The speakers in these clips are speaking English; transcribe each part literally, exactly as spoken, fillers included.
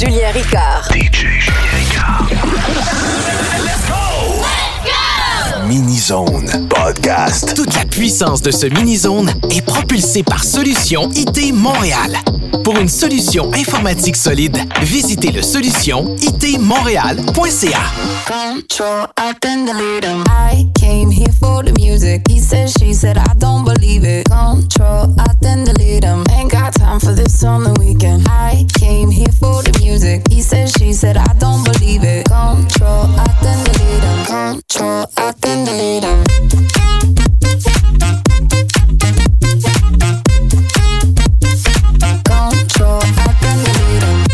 Julien Ricard. D J Julien Ricard. Let's go! Let's go! Mini-Zone Podcast. Toute la puissance de ce mini-zone est propulsée par Solution I T Montréal. Pour une solution informatique solide, visitez le solution I T montréal point c a. Control, I then delete him. I came here for the music. He said, she said, I don't believe it. Control, I then delete him. Ain't got time for this on the weekend. I came here for the music. He said, she said, I don't believe it. Control, I then delete him. Control, I then delete him. Control, I then delete him.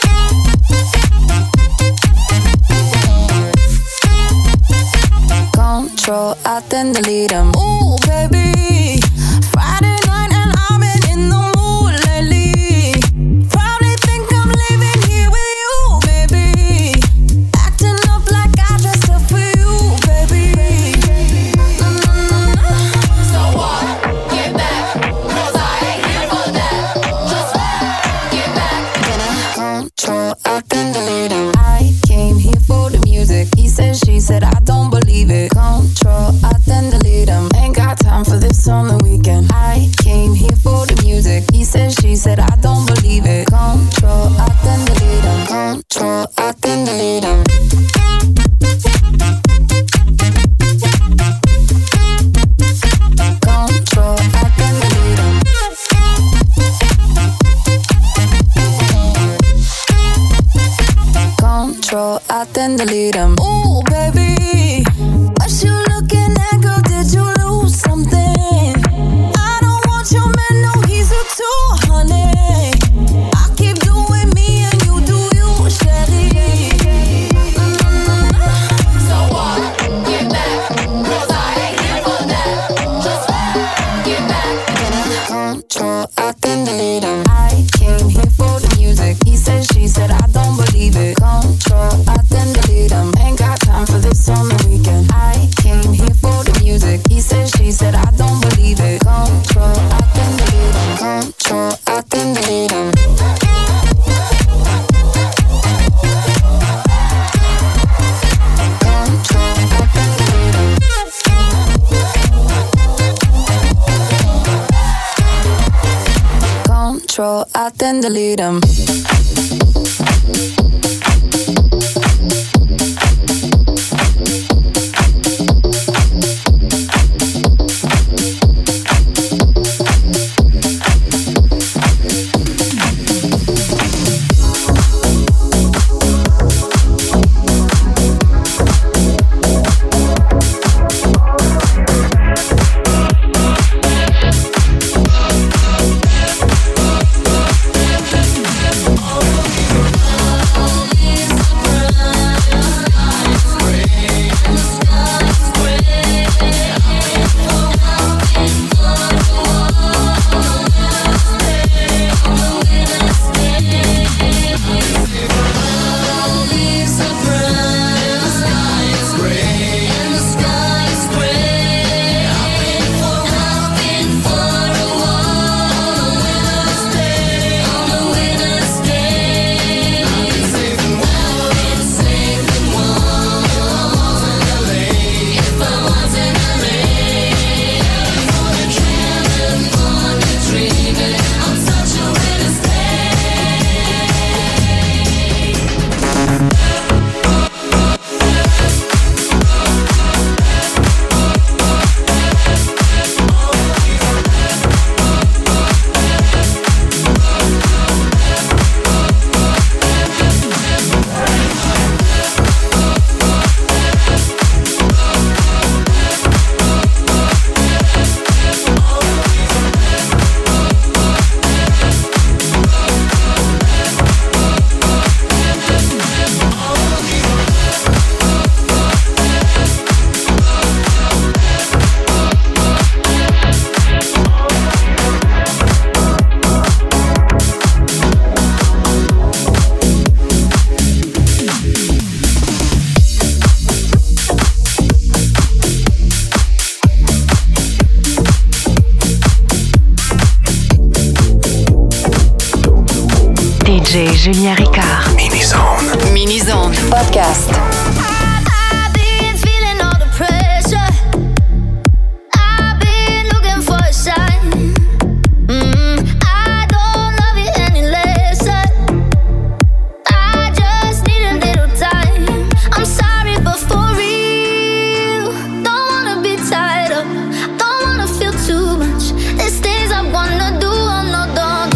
Control, I then delete him. Ooh, baby, Friday night and I've been in the mood lately. Probably think I'm living here with you, baby. Acting up like I dressed up for you, baby. Mm-hmm. So what? Get back, 'cause I ain't here for that. Just get back. Control, I then delete him. I came here for the music. He said, she said, I don't believe it. Control, I then delete him. Ain't got time for this on the weekend. I came here for the music. He said, she said, I don't believe it. Control, I then delete him. Control, I then delete him. Control, I then delete him. Control, I then delete him. Ooh, baby, what you looking at, girl? Did you lose something? I don't want your man, no, he's a two, honey. I keep doing me and you do you, steady. Mm-hmm. So what? Get back, 'cause I ain't here for that. Just get back. Control, I then delete him. I came here for the music. He said, she said, I don't believe it. Control, I then delete him. Ain't got time for this on the weekend. I came here for the music. He said, she said, I don't believe it. Control, I then delete him. Control, I then delete him. Control, I then delete him. Oh, D J Julien Ricard. Mini-Zone. Mini-Zone. Podcast. I've been feeling all the pressure. I've been looking for a sign. Mm, I don't love it any less. I just need a little time. I'm sorry, but for real, don't wanna be tied up. Don't wanna feel too much. There's things I wanna do. Oh no, don't.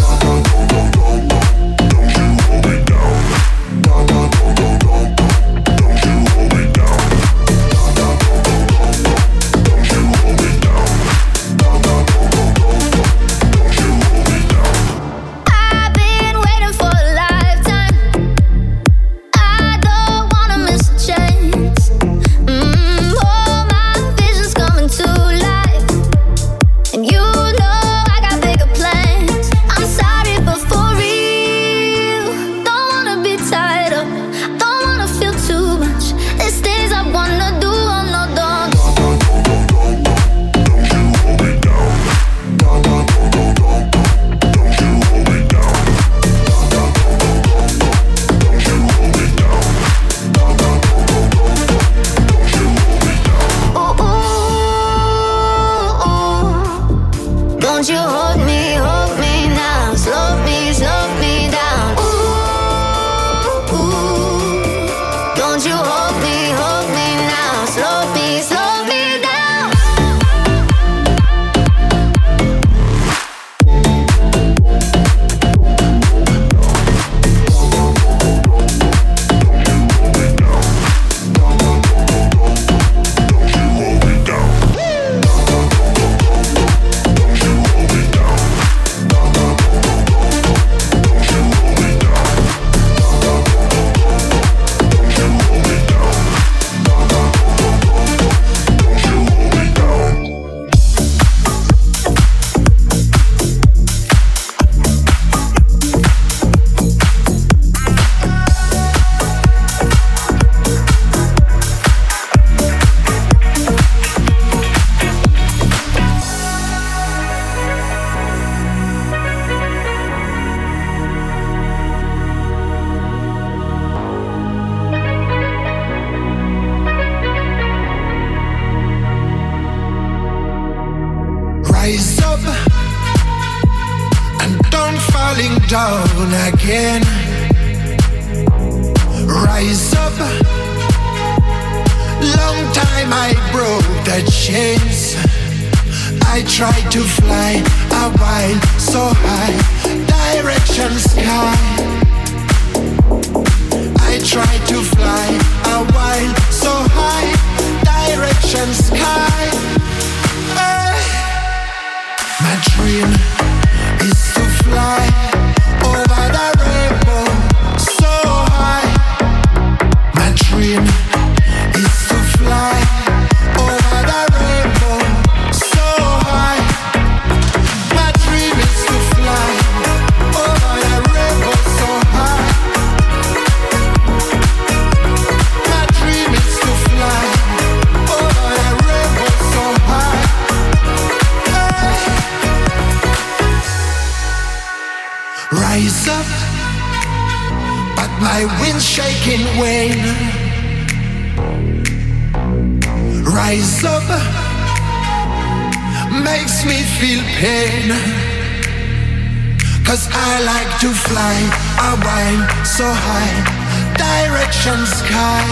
Down again. Rise up. Long time I broke the chains. I tried to fly a while so high, direction sky. I tried to fly a while so high, direction sky. Hey. My dream is to fly over the rainbow, so high. My dream is to fly over the rainbow, so high. My dream is to fly over the rainbow, so high. My dream is to fly over the rainbow, so high. Hey. Rise up, but my wind's shaking wane. Rise up, makes me feel pain. Cause I like to fly a while so high, direction sky.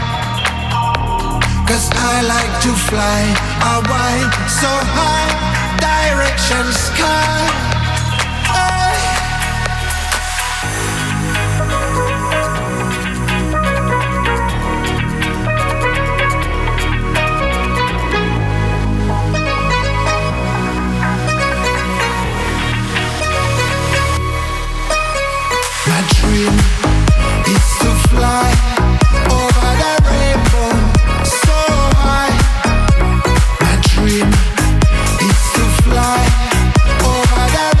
Cause I like to fly a while so high, direction sky. My dream is to fly over the rainbow, so high. My dream is to fly over the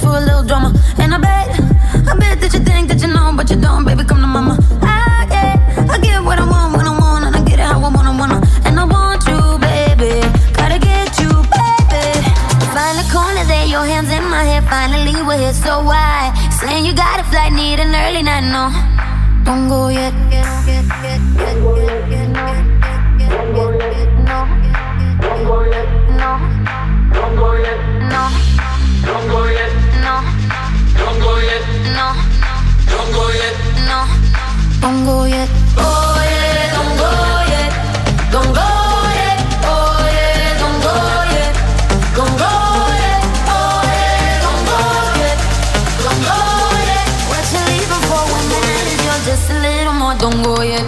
for a little drama. And I bet, I bet that you think that you know, but you don't, baby, come to mama. I get, I get what I want when I want, and I get it how I wanna, wanna. And I want you, baby, gotta get you, baby. Find the corner there, your hands in my hair, finally we're here, so why? Saying you got a flight, need an early night, no. Don't go yet, get, get, get, get, get, get, no. Don't go yet, no. Don't go yet, no. Don't go yet, no. Don't go yet, no. Don't go yet, no. Don't go yet, no. Don't go yet, oh yeah, don't go yet, don't go yet, oh yeah, don't go yet, don't go yet, oh yeah, don't go yet, don't go yet. What you leaving for when the night is yours? Just a little more, don't go yet.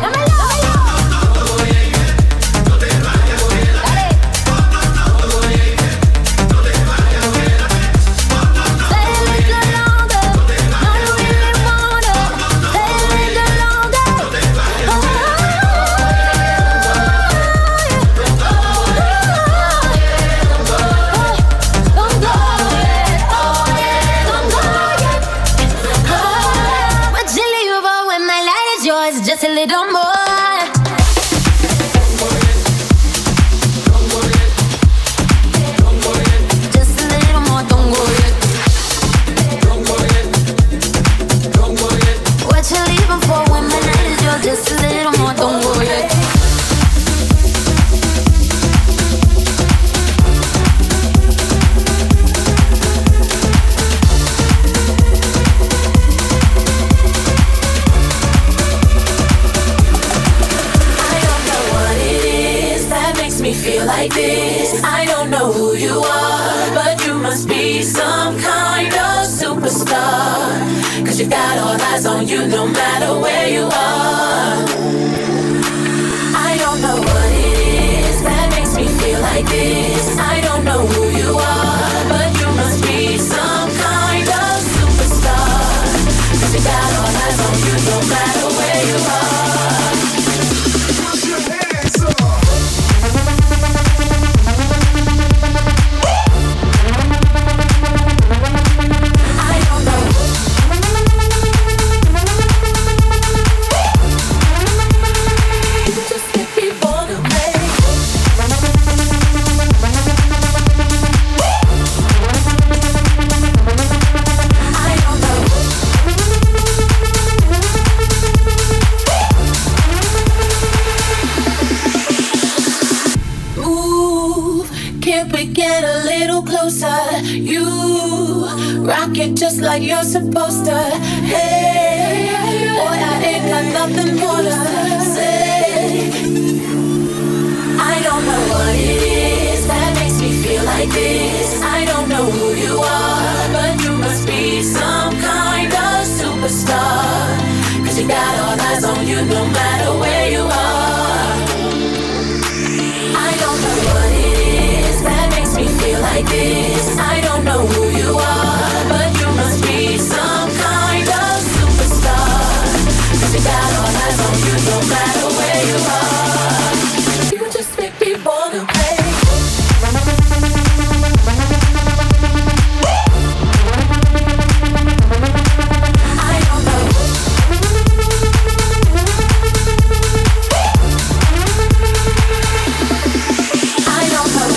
Just a little more. Just a little more, don't go yet. Don't go yet. Don't go yet. What you leaving for when my night is yours? Just a little more, don't go yet. Feel like this. I don't know who you are, but you must be some kind of superstar. Cause you got all eyes on you no matter where you are. I don't know what it is that makes me feel like this. I don't know who you are, but you must be some kind of superstar. Cause you got all eyes on you no matter where you are. Put your hands up. Rock it just like you're supposed to. Hey, boy, I ain't got nothing more to say. I don't know what it is that makes me feel like this. I don't know who you are, but you must be some kind of superstar. Cause you got all eyes on you no matter where you are. I don't know what it is that makes me feel like this. I don't know who you are, but you must be some kind of superstar. Cause you got all eyes on you no matter where you are. You just make me wanna play. I don't know. I don't know.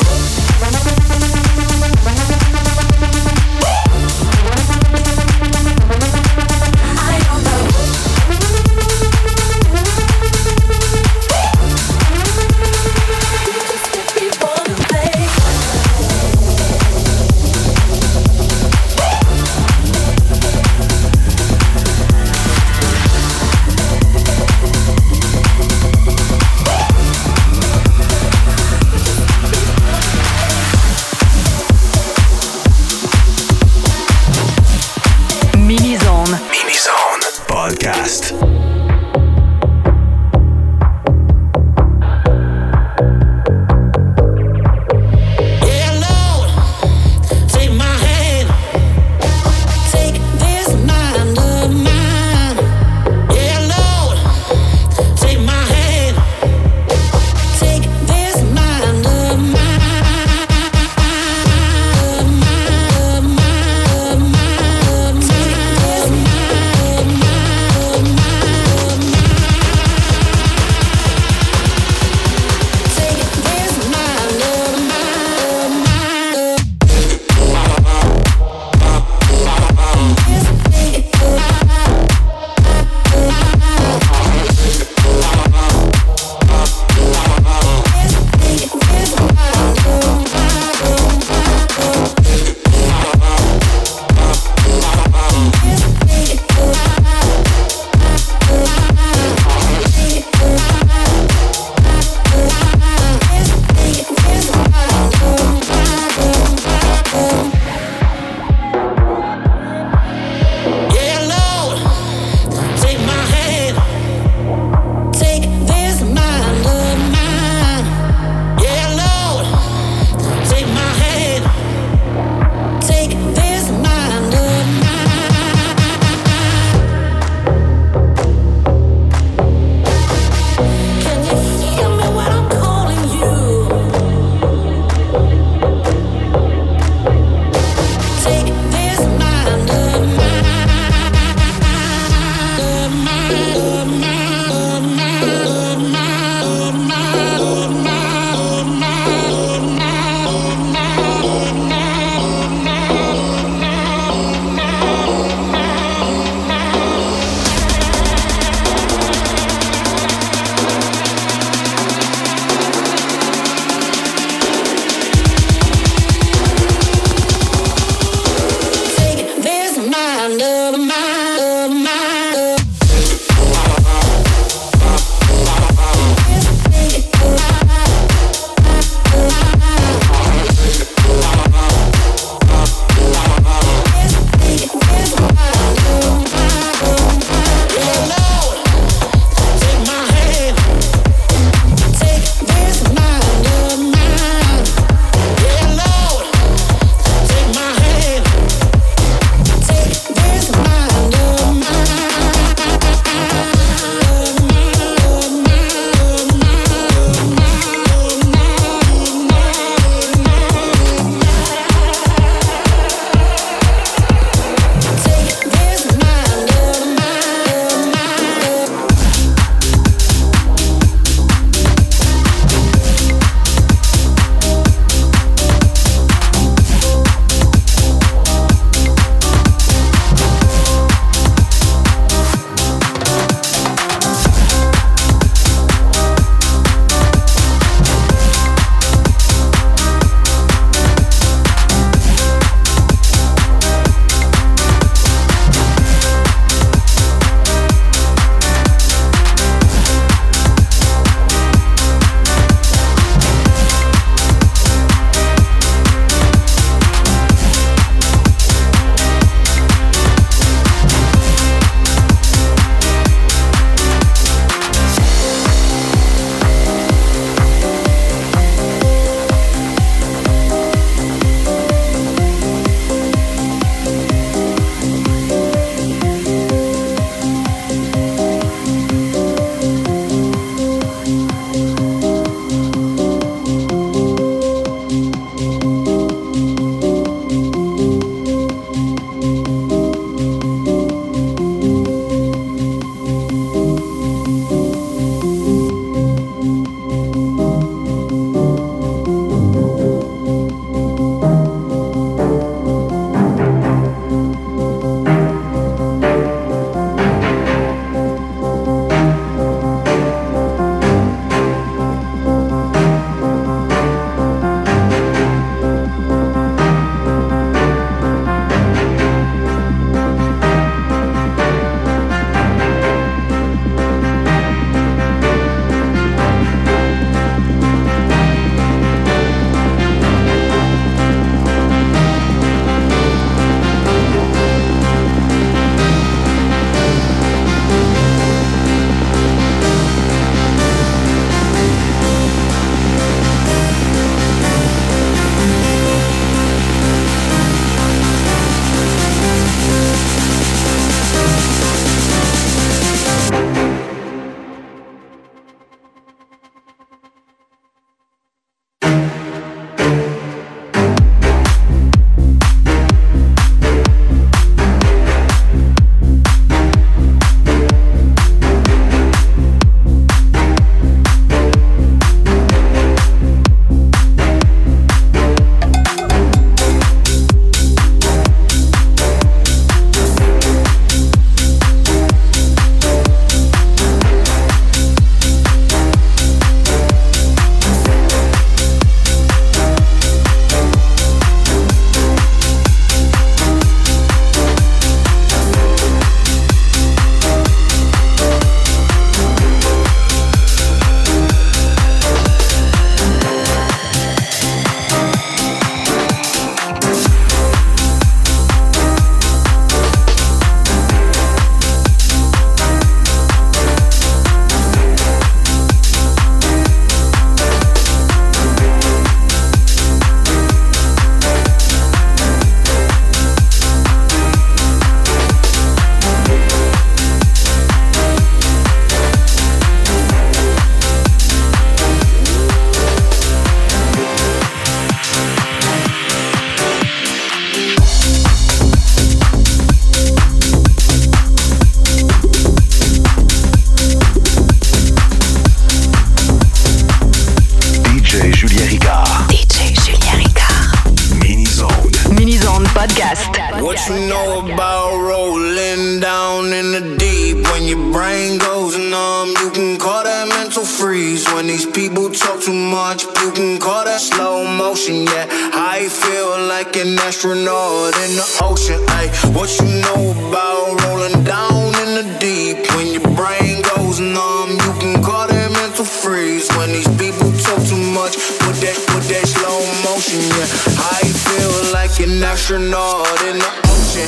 the deep. When your brain goes numb, you can call that mental freeze. When these people talk too much, you can call that slow motion. Yeah, I feel like an astronaut in the ocean. Ay, what you know about rolling down in the deep? When your brain goes numb, you can call that mental freeze. When these people talk too much, put that, put that slow motion. Yeah, I feel like an astronaut in the ocean.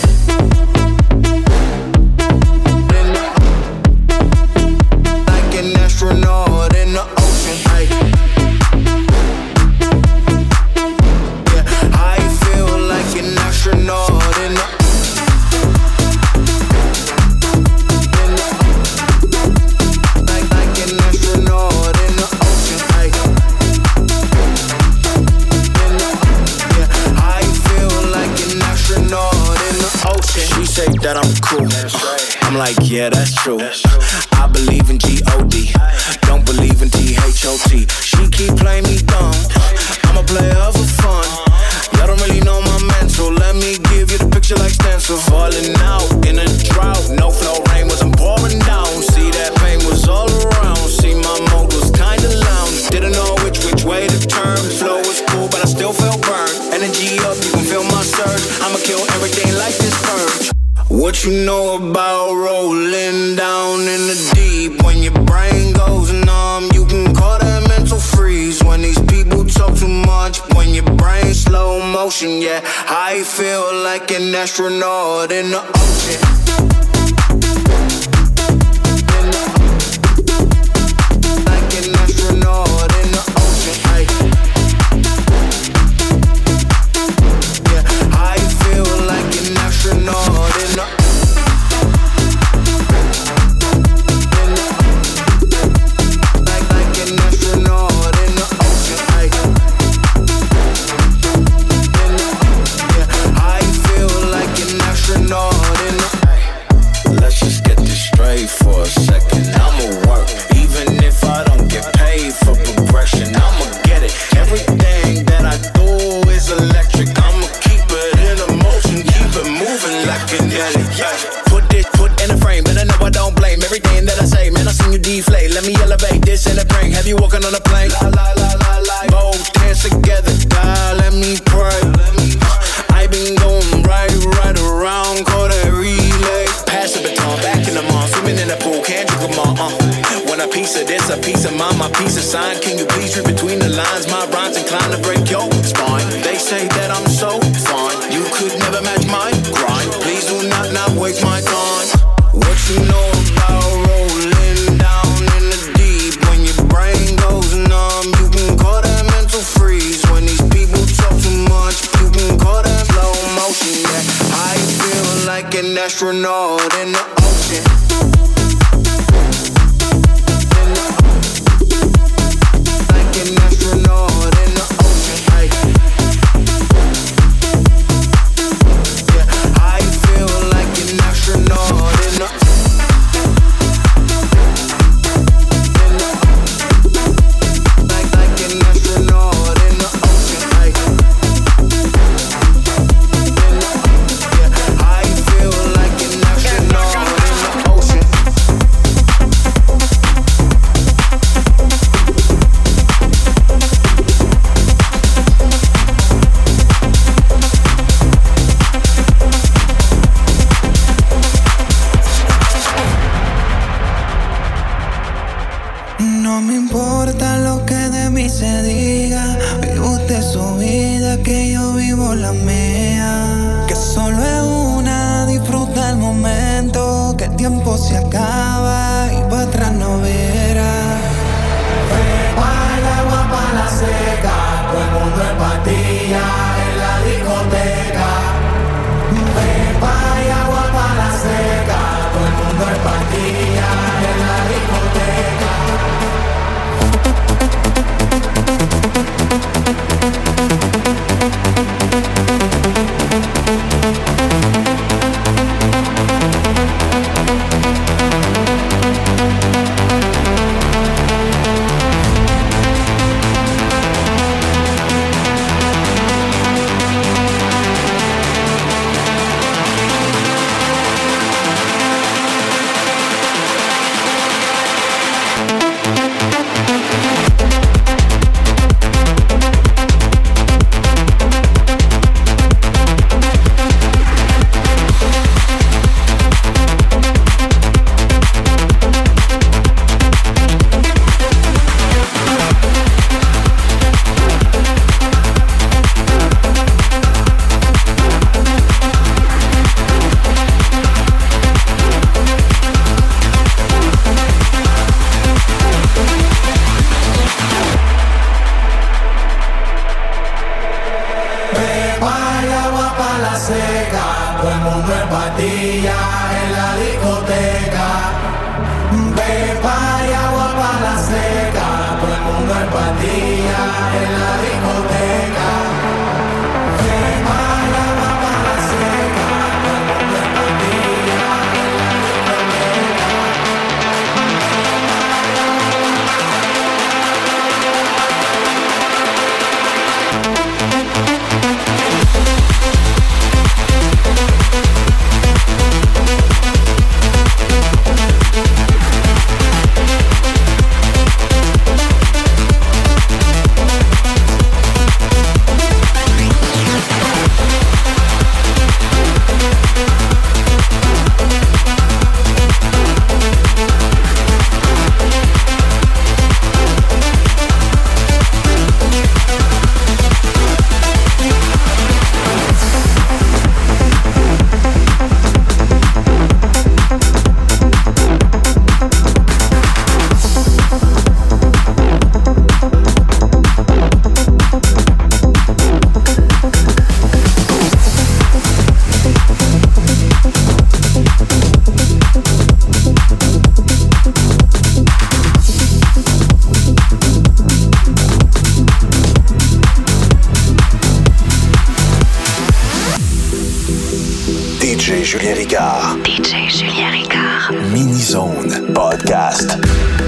Astronaut in the ocean, ay. Yeah, I feel like an astronaut in the, in the like, like an astronaut in the ocean, ay. In the, yeah, I feel like an astronaut in the ocean. She say that I'm cool. I'm like, yeah, that's true. I believe in G O D, don't believe in T H O T. She keep playing me dumb, I'm a player for fun. Y'all don't really know my mental, let me give you the picture like stencil. Falling out in a drought, no flow rain wasn't pouring down. See that pain was all around, see my mode was kinda lounge. Didn't know which, which way to turn. Flow was cool, but I still felt burned. Energy up, you can feel my surge. I'ma kill everything like this purge. What you know about rolling down in the deep? When your brain goes numb, you can call that mental freeze. When these people talk too much, when your brain slow motion, yeah, I feel like an astronaut in the ocean. In the, like an astronaut in the ocean, ay. Yeah, I feel like an astronaut in the, in the, like, like an astronaut in the ocean, ay. In the, yeah, I feel like an astronaut in the, let's just get this straight for a second. I'ma work, even if I don't get paid for progression. I'ma get it, everything that I do is electric. I'ma keep it in a motion, keep it moving like an ellie. Put this, put in a frame, but I know I don't blame everything that I say. Man, I seen you deflate, let me elevate this in a prank. Have you walking on a plane? La la la la la. Both hands together, God, let me pray. I been going right, right around, call that relay. Pass the baton, back in the mall, swimming in the pool, can't drink them all. Uh. When a piece of this, a piece of mine, my piece of sign. Can you please read between the lines? My rhymes inclined to break your spine. They say that I'm so fine, you could never match my grind. Please do not, not waste my time. What you know about rolling down in the deep? When your brain goes numb, you can call that mental freeze. When these people talk too much, you can call that slow motion. Yeah, I feel like an astronaut in the ocean. In the, like an astronaut in the ocean, ay. Yeah, I feel like an astronaut in the, in the, like, like an astronaut in the ocean, ay. In the, yeah, I feel like an astronaut in the ocean. No me importa lo que de mí se diga. Vive usted su vida, que yo vivo la mía. Que solo es una, disfruta el momento. Que el tiempo se acaba y para atrás no verá. Prepara el agua para la seca, todo el mundo en patilla en la discoteca. Prepara el agua para la seca, todo el mundo en patilla en la discoteca. en la discoteca. Quema la mamá seca, todo el mundo en pandilla en la discoteca. D J Julien Ricard. D J Julien Ricard. Mini-Zone Podcast.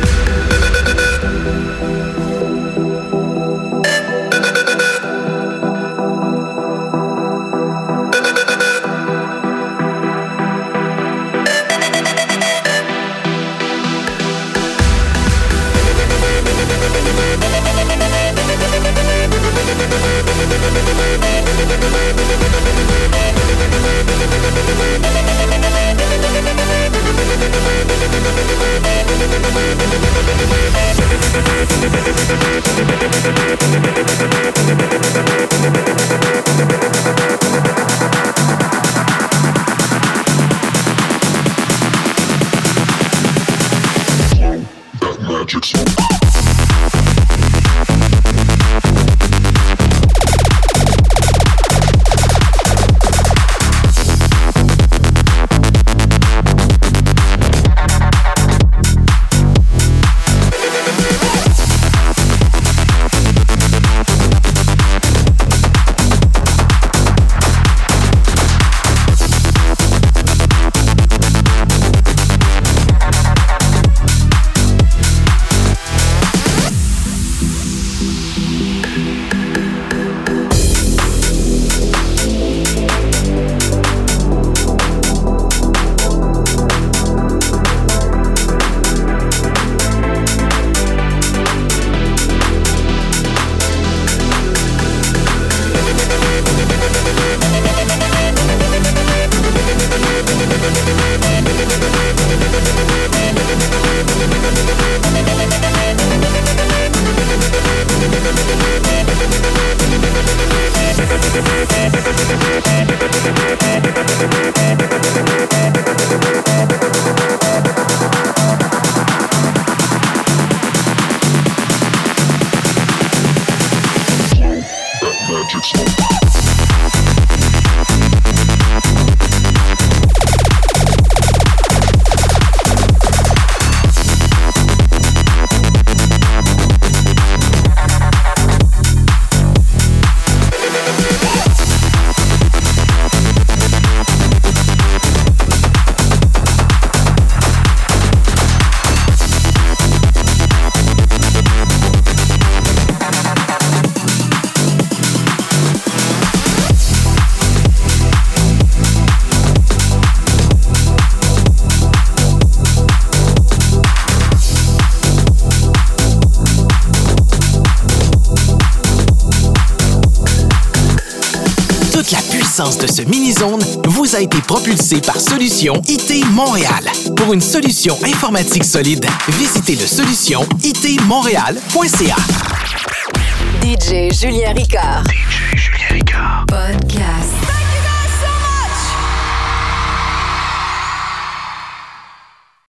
De ce mini-zone vous a été propulsé par Solutions I T Montréal. Pour une solution informatique solide, visitez le solution I T montréal point C A. D J Julien Ricard. D J Julien Ricard. Podcast.